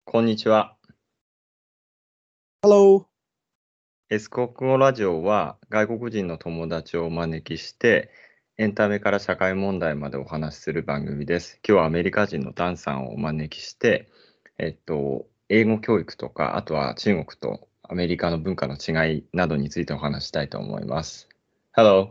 こんにちは。 Hello. S 国語ラジオは外国人の友達をお招きして、エンタメから社会問題までお話しする番組です。今日はアメリカ人のダンさんをお招きして、英語教育とか、あとは中国とアメリカの文化の違いなどについてお話したいと思います。Hello.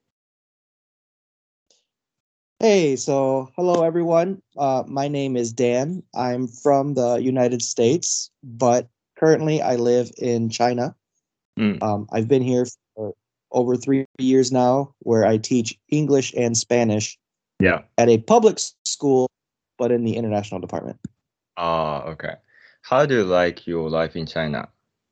Hey, so hello everyone. My name is Dan. I'm from the United States, but currently I live in China. うん。 I've been here for over 3 years now, where I teach English and Spanish Yeah. at a public school, but in the international department. Okay. How do you like your life in China?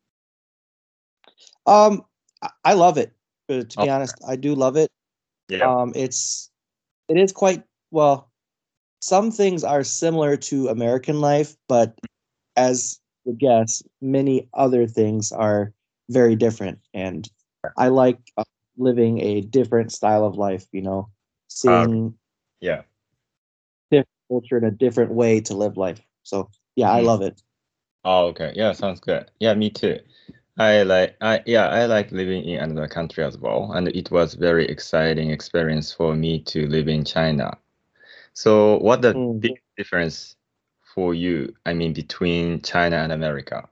I love it. To Oh, be honest, I do love it. yeah. It is quite well. Some things are similar to American life, but as the guess, many other things are very different. And I like living a different style of life, Okay. seeing Yeah. different culture in a different way to live life. So, yeah, I Mm. love it. Oh, okay. Yeah, sounds good. Yeah, me too. I like living in another country as well, and it was very exciting experience for me to live in China. So, what the Mm. big difference for you, I mean, between China and America?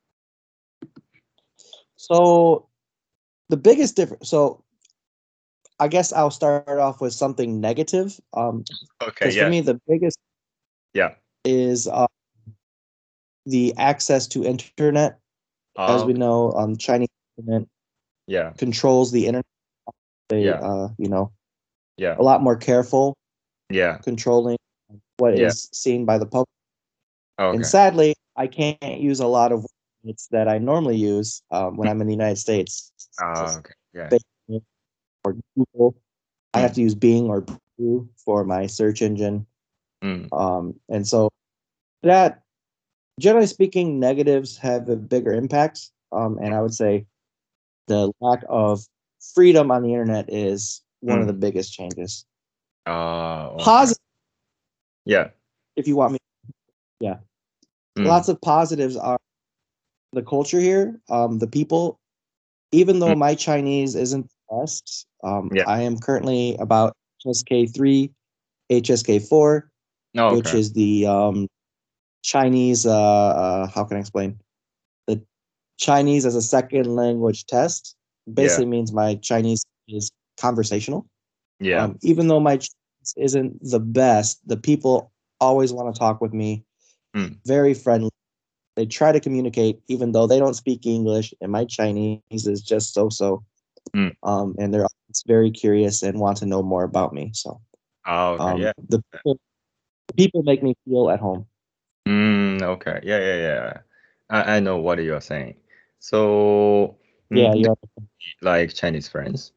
So, the biggest difference, so I guess I'll start off with something negative. Okay, Because for yeah, me, the biggest yeah. is the access to internet. As Oh, we know, Chinese internet yeah, controls the internet. They, yeah, yeah, a lot more careful yeah, controlling what yeah. is seen by the public. And Okay. sadly, I can't use a lot of words that I normally use when I'm in the United States. Just Okay, yeah. Facebook or Google. I have Mm, to use Bing or Bing for my search engine. mm, And so that, generally speaking, negatives have a bigger impact. And I would say the lack of freedom on the internet is one of the mm. biggest changes. Okay. Positive, Yeah. if you want me, yeah. Mm, Lots of positives are the culture here, the people. Even though mm, my Chinese isn't the best, yeah. I am currently about HSK3, HSK4, Oh, which okay. is the Chinese. How can I explain? The Chinese as a second language test Yeah. basically means my Chinese is conversational. Yeah. Even though my Chinese isn't the best, the people always want to talk with me. Mm, Very friendly. They try to communicate, even though they don't speak English, and my Chinese is just so. mm. And they're always very curious and want to know more about me. So Oh, okay. Yeah. the people make me feel at home. Okay. Yeah, yeah, yeah. I know what you're saying. So, Yeah, do you're. you like Chinese friends?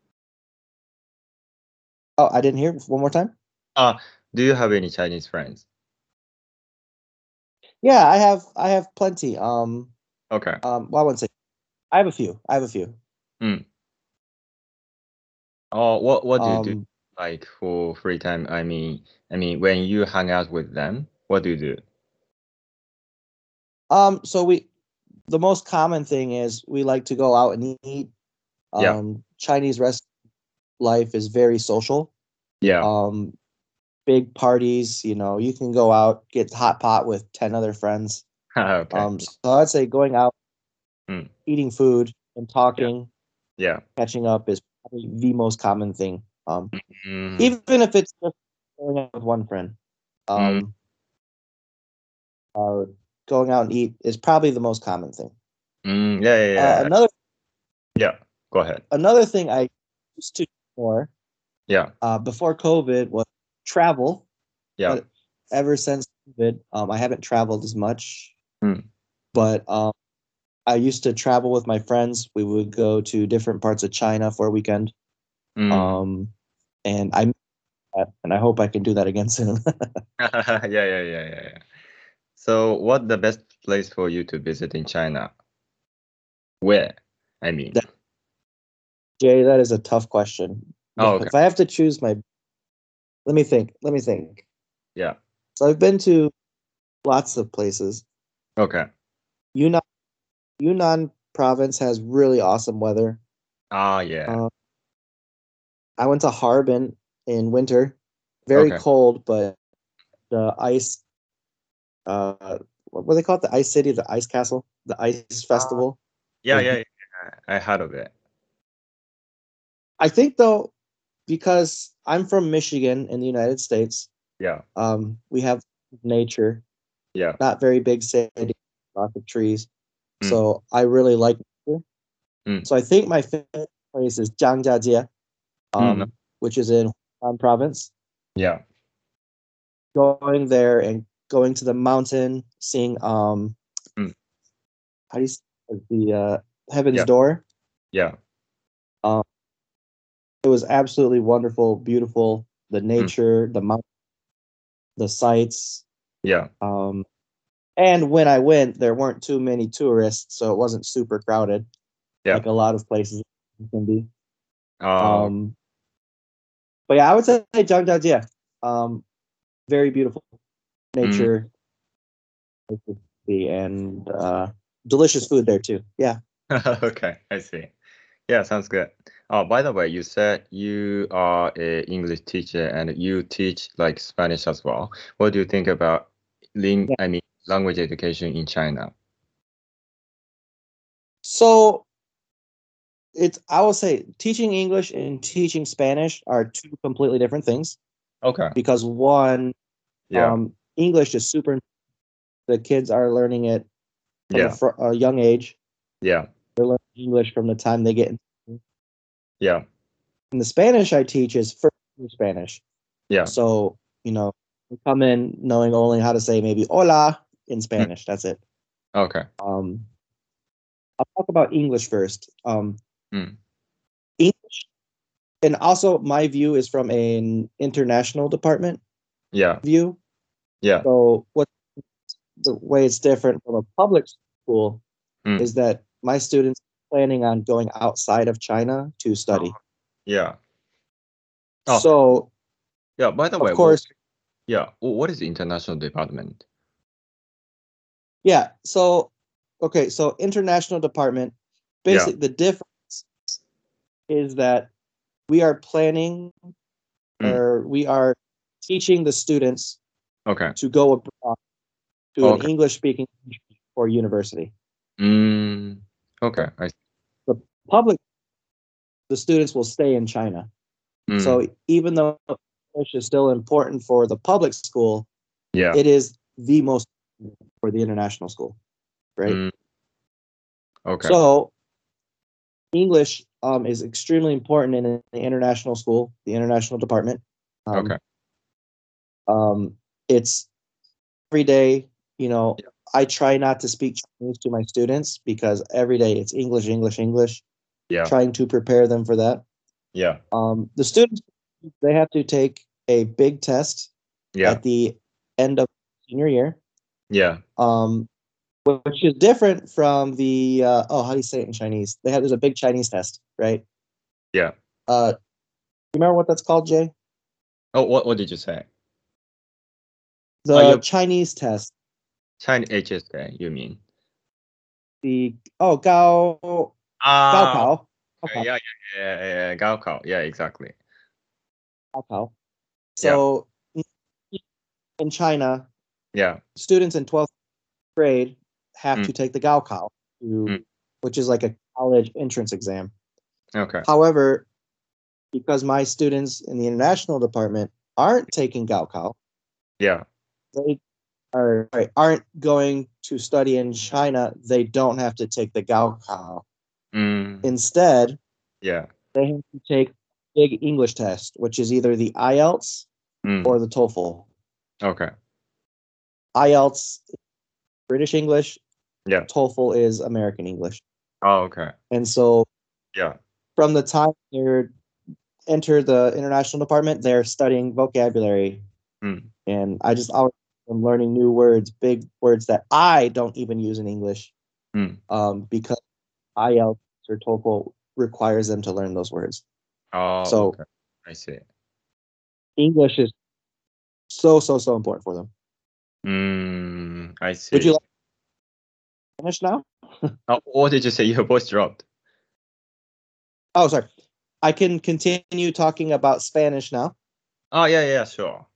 Oh, I didn't hear one more time. Ah, do you have any Chinese friends? Yeah, I have plenty. Okay. Well, I wouldn't say I have a few. I have a few. Mm. Oh, what do you do Um, like for free time? I mean, when you hang out with them, what do you do? so the most common thing is we like to go out and eat. Yeah. Chinese rest life is very social. Yeah. Um, Big parties, you can go out, get hot pot with 10 other friends. Okay. So I'd say going out, Mm. eating food, and Yeah. talking, Yeah. catching up is probably the most common thing. Mm. Even if it's just going out with one friend, Mm. um, uh, going out and eat is probably the most common thing. Yeah, yeah, Uh, yeah. another Yeah. Go ahead. another thing I used to do more Yeah. before COVID was travel, Yeah. but ever since COVID, I haven't traveled as much. Mm. But I used to travel with my friends. We would go to different parts of China for a weekend. Mm. Um, and I miss that, and I hope I can do that again soon. Yeah, yeah, yeah, yeah, yeah. So, what the best place for you to visit in China? Where? I mean. That, Jay, that is a tough question. Oh, But okay. if I have to choose let me think. Yeah. So I've been to lots of places. Okay. Yunnan Yunnan province has really awesome weather. Ah, yeah. Uh, I went to Harbin in winter, very Okay. cold, but the ice, what do they call it? The ice city, the ice castle, the ice Uh, festival yeah, was. yeah, yeah. I heard of it. I think though, because I'm from Michigan in the United States, Yeah, we have nature, yeah. not very big city, lots of trees. Mm, So I really like nature. mm, So I think my favorite place is Zhangjiajie, mm. which is in Hunan province. Yeah. Going there and going to the mountain, seeing Mm, how do you say the Heaven's yeah, Door. yeah. Um, it was absolutely wonderful, beautiful. The Mm, nature, the mountain, the sights. yeah. Um, and when I went, there weren't too many tourists, so it wasn't super crowded Yeah. like a lot of places can be. Oh, Um, but yeah, I would say Zhangjiajie. Um, very beautiful mm, nature and delicious food there too. Yeah. okay, I see. Yeah, sounds good. Oh, by the way, you said you are a English teacher and you teach like Spanish as well. What do you think about Yeah. I mean, language education in China? So it's I will say teaching English and teaching Spanish are two completely different things Okay. because one, Yeah. English is super. The kids are learning it from Yeah. a young age. Yeah. They're learning English from the time they get in. Yeah. And the Spanish I teach is first year Spanish. Yeah. So, we come in knowing only how to say maybe hola in Mm, Spanish. That's it. okay. Um, I'll talk about English first. Mm, English, and also my view is from an international department yeah. view. Yeah. So, what the way it's different from a public school Mm, is that my students are planning on going outside of China to oh, study. yeah. Oh, So, yeah. By the of way, course, yeah. What is the international department? yeah. So, okay. So, international department, Yeah. basically, the difference is that we are planning Mm, or we are teaching the students okay. to go abroad to an Okay. English speaking or university. Mm, okay. I see. The public, the students will stay in China. So Mm, even though English is still important for the public school, yeah. it is the most for the international school, right? Mm, okay. So English is extremely important in the international school, the international department. Okay. Um, it's every day, you know, Yeah. I try not to speak Chinese to my students because every day it's English, English, English, Yeah. trying to prepare them for that. Yeah. The students, they have to take a big test Yeah. at the end of senior year, Yeah. um, which is different from the, how do you say it in Chinese? There's a big Chinese test, right? Yeah. You remember what that's called, Jay? Oh, what did you say? Oh, The you Chinese test. China HSK, you mean? The, oh, Gao, Ah, Gaokao. okay. Gaokao. Yeah, yeah, yeah, yeah, yeah. Gaokao. Yeah, exactly. Gaokao. Yeah. So in China, Yeah. students in 12th grade have Mm, to take the Gaokao, mm, which is like a college entrance exam. okay. However, because my students in the international department aren't taking Gaokao, Yeah. they aren't going to study in China, they don't have to take the Gaokao. Mm, Instead, yeah. they have to take big English test, which is either the IELTS Mm, or the TOEFL. okay. IELTS British English, Yeah. TOEFL is American English. Oh, okay. And so Yeah. from the time they enter the international department, they're studying vocabulary. Mm, And I just always am learning new words, big words that I don't even use in English, mm. because IELTS or TOEFL requires them to learn those words. Oh, So okay. I see. English is so, so, so important for them. I Would you see. like Spanish now? What did you say? Your voice dropped. Oh, sorry. I can continue talking about Spanish now. Oh, yeah, sure.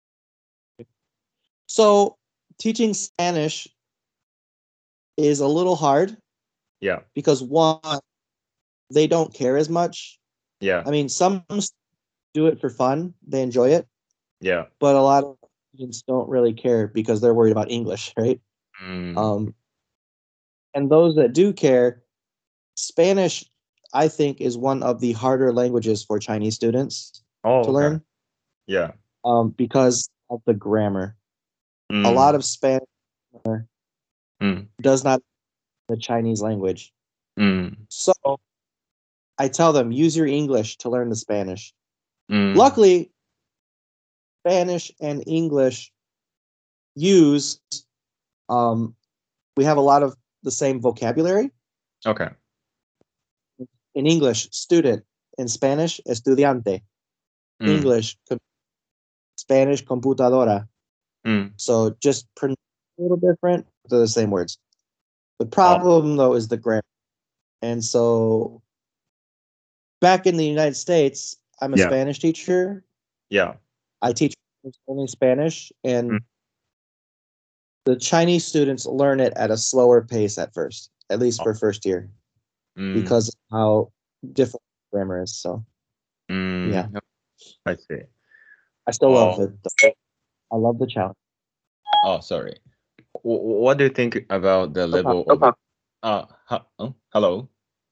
So, teaching Spanish is a little hard Yeah, because one, they don't care as much. yeah, I mean, some do it for fun, they enjoy it, yeah. but a lot of students don't really care because they're worried about English, right? Mm. Um, and those that do care, Spanish, I think, is one of the harder languages for Chinese students Oh, to okay. learn Yeah. because of the grammar. A lot Mm, of Spanish mm, does not the Chinese language. mm, So I tell them, use your English to learn the Spanish. mm. Luckily, Spanish and English use, um, we have a lot of the same vocabulary. Okay. In English, student. In Spanish, estudiante. Mm, English, Spanish, computadora. mm. So just a little different. They're the same words. The Oh, problem, though, is the grammar. And so back in the United States, I'm a yeah, Spanish teacher. yeah. I teach only Spanish, Mm, and the Chinese students learn it at a slower pace at first, at least oh, for first year, mm, because of how different grammar is. So yeah, mm. I see. I still love Oh, it. Though. I love the challenge. oh, sorry. What do you think about the No level problem. of hello?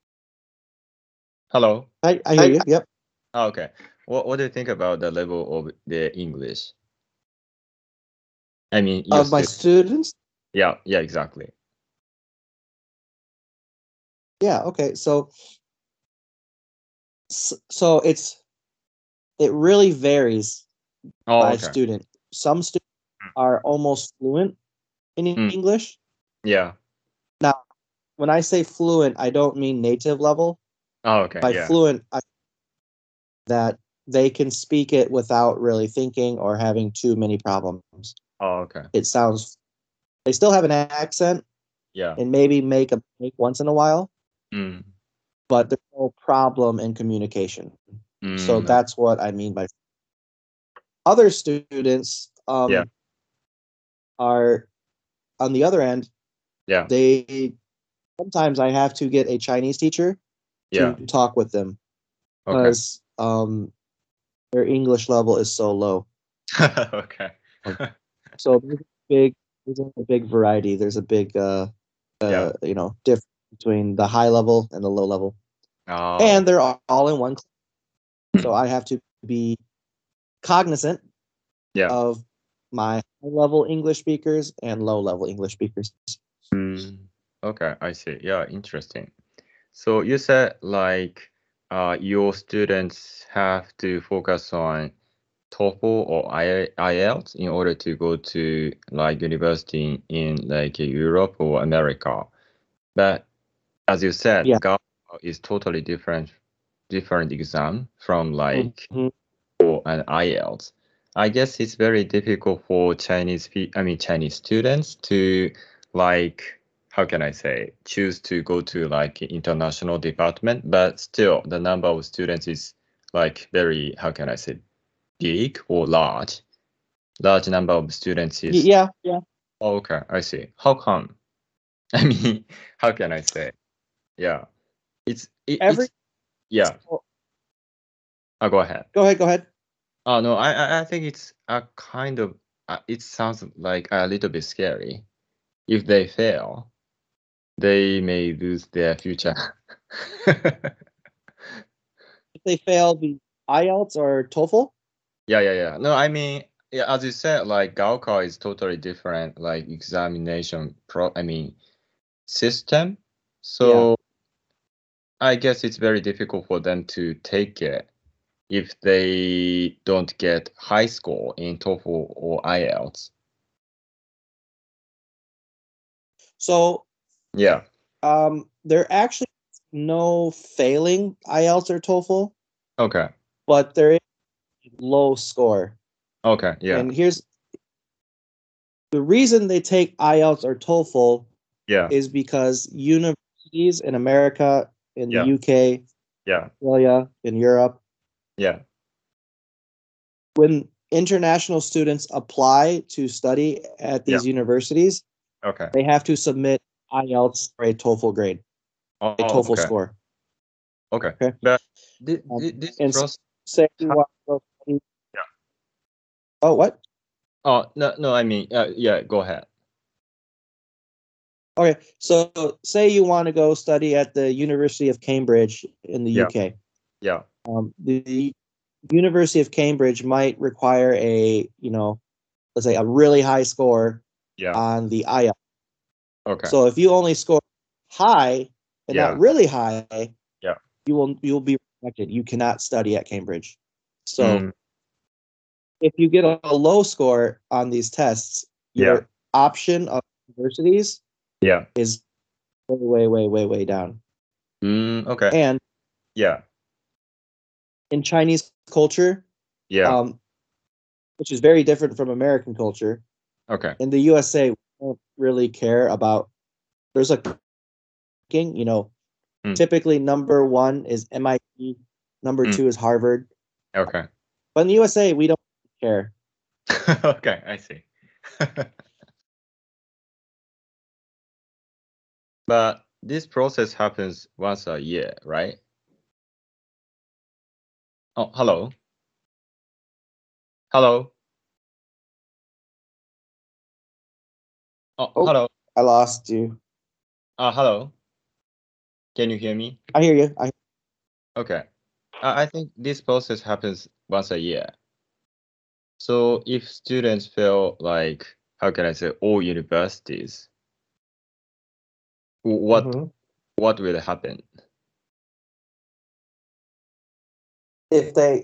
Hello? I hear you. Yep. Oh, okay. What do you think about the level of the English? I mean, your Of my student. students. Yeah, exactly. Yeah. Okay. So it really varies Oh, by okay. student. Some students are almost fluent in Mm, English. yeah. Now, when I say fluent, I don't mean native level. Oh, okay. By Yeah. fluent, I that they can speak it without really thinking or having too many problems. Oh, okay. It sounds they still have an accent Yeah. and maybe make a mistake once in a while, Mm, but there's no problem in communication. So mm, that's what I mean by other students yeah. are on the other end. Yeah. They sometimes I have to get a Chinese teacher to Yeah. talk with them Okay. because their English level is so low. Okay. Um, So there's a big variety. There's a big Yeah. difference between the high level and the low level, Oh. and they're all in one class. So Mm, I have to be cognizant yeah. of my high level English speakers and low level English speakers. Mm, okay, I see. Yeah, interesting. So you said like your students have to focus on TOEFL or IELTS in order to go to like university in like Europe or America. But as you said, Yeah. GALA is totally different exam from like Mhm. for an IELTS. I guess it's very difficult for Chinese students to like how can I say choose to go to like international department, but still the number of students is like very how can I say big or large. Large number of students is Yeah, yeah. oh, okay, I see. How come? I mean, how can I say? Yeah, Every it's yeah. oh, Go ahead. go ahead, go ahead. Oh no, I think it's a kind of it sounds like a little bit scary. If they fail, they may lose their future. If they fail the IELTS or TOEFL, Yeah. No, I mean, yeah, as you said, like Gaokao is totally different, like examination system. yeah. So I guess it's very difficult for them to take it if they don't get high score in TOEFL or IELTS. So Yeah. there actually no failing IELTS or TOEFL, Okay. but there is low score. Okay. Yeah. And here's the reason they take IELTS or TOEFL Yeah. is because universities in America, in the Yeah. UK, Yeah. Australia, in Europe, Yeah. when international students apply to study at Yeah. these universities, Okay. they have to submit IELTS or a TOEFL grade, Oh, a TOEFL okay. score. Okay. Okay. But this And process. say you want to go study. Yeah. Oh, what? Oh, no, I mean, yeah, go ahead. Okay, so say you want to go study at the University of Cambridge in the Yeah. UK. Yeah. The University of Cambridge might require let's say a really high score Yeah. on the IELTS. Okay. So if you only score high and Yeah. not really high, Yeah. you'll be rejected. You cannot study at Cambridge. So Mm, if you get a low score on these tests, your yeah. option of universities Yeah. is way down. Okay. And Yeah. in Chinese culture, Yeah. which is very different from American culture, Okay. in the USA, we don't really care about. There's like, Mm. typically number one is MIT, number Mm. two is Harvard. Okay. But in the USA, we don't care. Okay, I see. But this process happens once a year, right? Oh, hello. Hello. Oh, Oh, hello. I lost you. Hello. Can you hear me? I hear you. Okay. I think this process happens once a year. So if students feel like, how can I say, all universities, what Mhm. what will happen? If they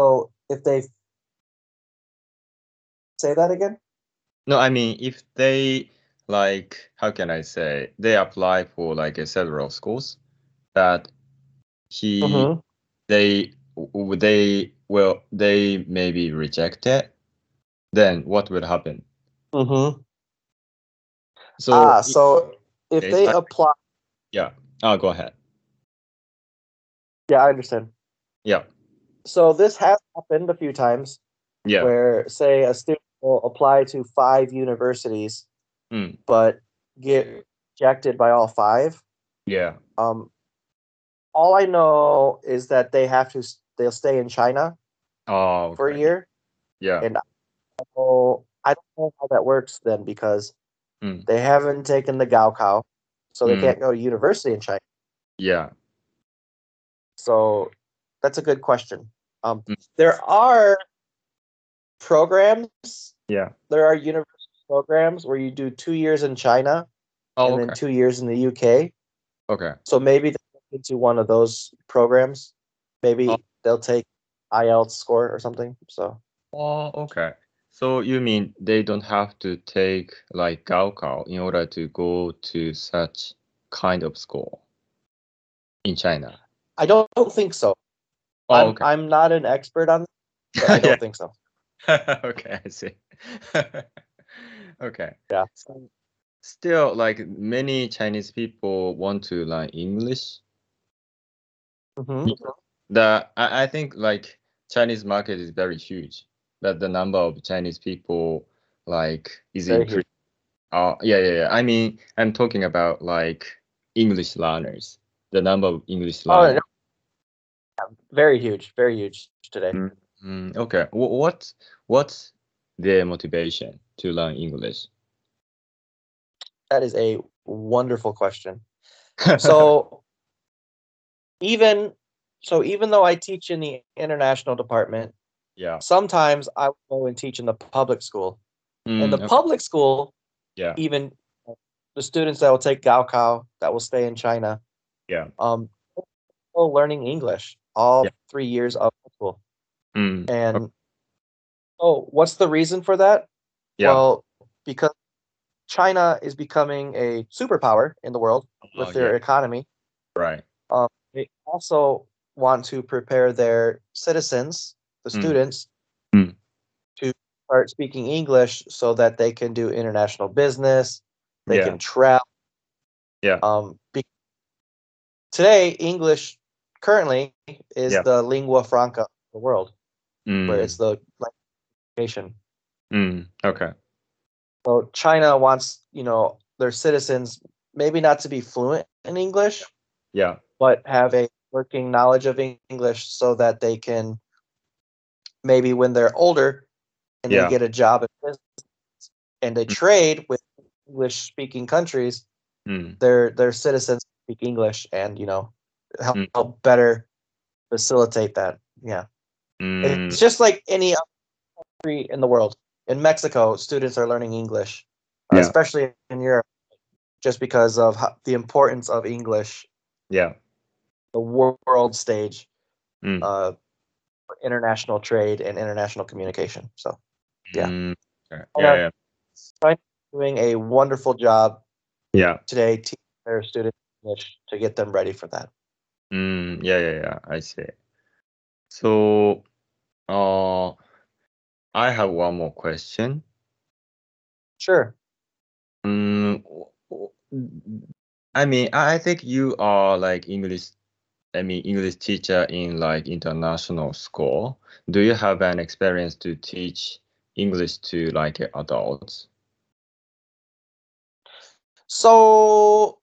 say that again. No, I mean if they like, how can I say, they apply for like several schools, but he Mm-hmm. they may be rejected, then what will happen? Mm-hmm. So So if case, they apply, yeah. Go ahead. yeah, I understand. Yeah. So this has happened a few times Yeah. where, say, a student will apply to 5 universities, Mm, but get rejected by all 5. yeah. Um, all I know is that they'll stay in China Oh, for a okay. year, Yeah. and I don't know how that works then because Mm, they haven't taken the Gaokao, so they mm, can't go to university in China. yeah. So that's a good question. Mm, There are programs, yeah. there are university programs where you do 2 years in China Oh, and then okay. 2 years in the UK. Okay. So maybe they look into one of those programs. Oh, Maybe they'll take IELTS score or something. So okay. So you mean they don't have to take like Gaokao in order to go to such kind of school in China? I don't think so. Oh, okay. I'm not an expert on this, but I Yeah. don't think so. Okay, I see. Okay. Yeah. So still, like many Chinese people want to learn English. Mm-hmm. I think like Chinese market is very huge, but the number of Chinese people like is Very huge. increasing. Yeah. I mean, I'm talking about like English learners. The number of English Oh, learners. no, very huge today. Okay. What's their motivation to learn English? That is a wonderful question. So even even though I teach in the international department, Yeah. sometimes I will go and teach in the public school. And the Okay. public school, Yeah. even the students that will take Gaokao that will stay in China, Yeah. still learning English Yeah. all 3 years of school. Okay. And what's the reason for that? Yeah. Well, because China is becoming a superpower in the world Oh, with yeah. their economy. Right. They also want to prepare their citizens, the Mm. students, Mm. to start speaking English so that they can do international business, they Yeah. can travel, Yeah. Today, English currently is Yeah. the lingua franca of the world, where it's the education. Okay. So China wants, their citizens maybe not to be fluent in English, Yeah. but have a working knowledge of English so that they can maybe when they're older and they Yeah. get a job in business and they trade with English speaking countries, their citizens speak English and help better facilitate that. Yeah. It's just like any other country in the world. In Mexico, students are learning English, Yeah. especially in Europe, just because of the importance of English, Yeah. the world stage, Mm. for international trade and international communication. So, yeah. Okay. China, Yeah. China is doing a wonderful job Yeah. today teaching their students English to get them ready for that. Yeah. I see. So, I have one more question. Sure. Mm, I mean, I think you are like English teacher in like international school. Do you have an experience to teach English to like adults? So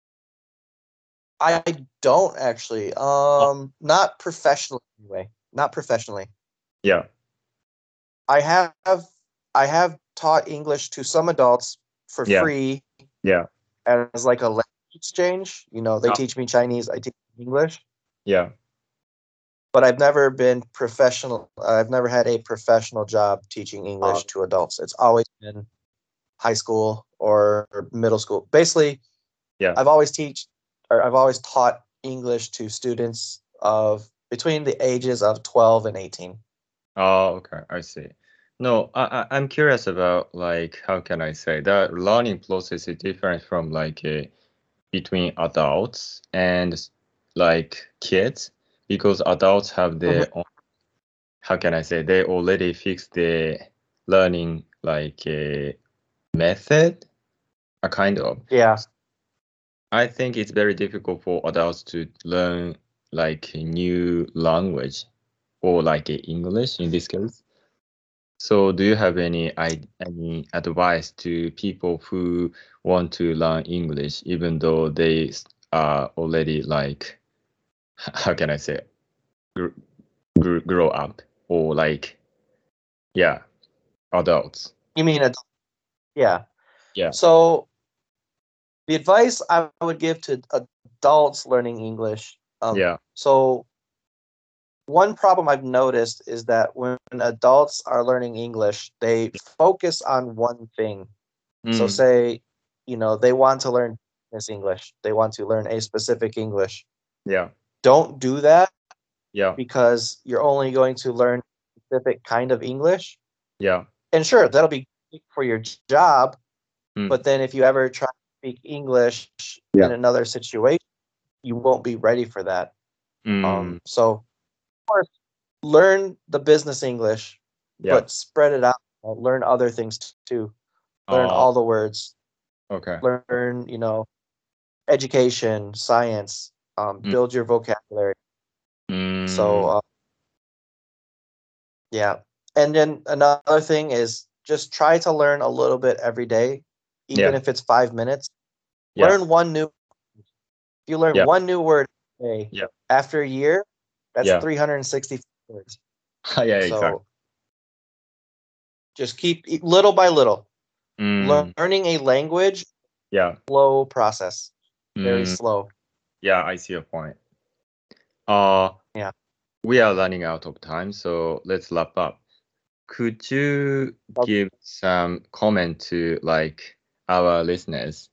I don't actually. Not professionally anyway. Not professionally. Yeah. I have I have taught English to some adults for Yeah. free Yeah. as like a language exchange. They Ah, teach me Chinese, I teach English, yeah. but I've never been professional. I've never had a professional job teaching Uh, English to adults. It's always been high school or middle school. Basically, yeah. I've always taught English to students of between the ages of 12 and 18. Oh, okay. I see. No, I'm curious about like how can I say the learning process is different from like between adults and like kids because adults have Mhm. their own, how can I say, they already fix the learning like a method, a kind of. Yeah. I think it's very difficult for adults to learn like a new language or like English in this case. So do you have any advice to people who want to learn English even though they are already like how can I say grow up or like yeah adults? You mean yeah. Yeah. So the advice I would give to adults learning English. Yeah. So one problem I've noticed is that when adults are learning English, they focus on one thing. So Mm, say, they want to learn this English. They want to learn a specific English. yeah. Don't do that Yeah. because you're only going to learn a specific kind of English. Yeah. And sure, that'll be great for your job, Mm, but then if you ever try to speak English in yeah. another situation, you won't be ready for that. Mm, So of course, learn the business English, yeah. but spread it out. Learn other things too. Learn Oh, all the words. okay. Learn, education, science. Mm, Build your vocabulary. So mm, yeah. And then another thing is just try to learn a little bit every day, even yeah. if it's 5 minutes. Yeah. Learn one new. If you learn Yeah. one new word a day, Yeah. after a year, that's Yeah. 360 words. Yeah. Exactly. So just keep little by little. Mm, Learning a language, yeah. slow process, very Mm, slow. yeah. I see your point. Uh, Yeah. we are running out of time, so let's wrap up. Could you Okay. give some comment to like our listeners?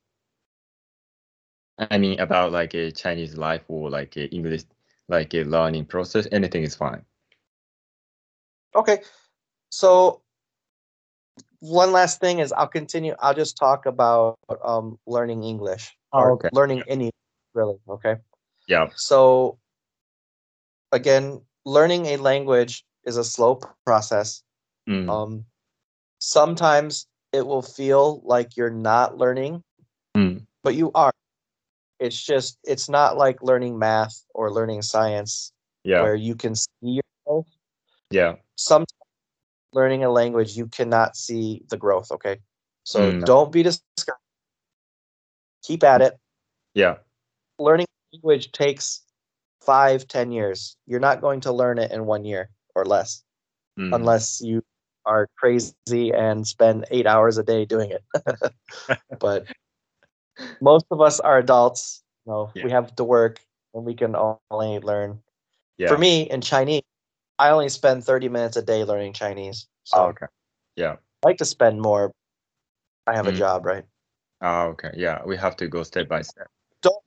I mean, about like a Chinese life or like a English, like a learning process. Anything is fine. Okay. So one last thing is I'll continue. I'll just talk about learning English Oh, or okay. learning any really. Okay. Yeah. So again, learning a language is a slow process. Mm, Um, Sometimes it will feel like you're not learning, mm, but you are. it's not like learning math or learning science Yeah. where you can see your growth. Yeah. Sometimes learning a language, you cannot see the growth, okay? So Mm. don't be discouraged. Keep at it. Yeah. Learning a language takes 5-10 years. You're not going to learn it in 1 year or less Mm. unless you are crazy and spend 8 hours a day doing it. But most of us are adults. Yeah. We have to work and we can only learn. Yeah. For me, in Chinese, I only spend 30 minutes a day learning Chinese. So Oh, okay. Yeah. I like to spend more. I have a Mm. job, right? Oh, okay. Yeah. We have to go step by step. Don't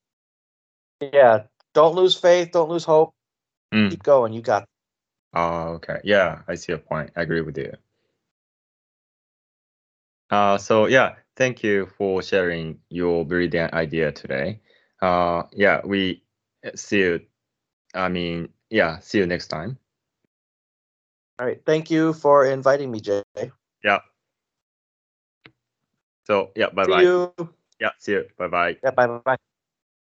don't lose faith, don't lose hope. Mm. Keep going. You got Oh, okay. Yeah, I see your point. I agree with you. So yeah, thank you for sharing your brilliant idea today. Yeah, we see you. See you next time. All right. Thank you for inviting me, Jay. Yeah. So yeah, bye See bye. you. Yeah, see you. Bye bye. Yeah, bye bye.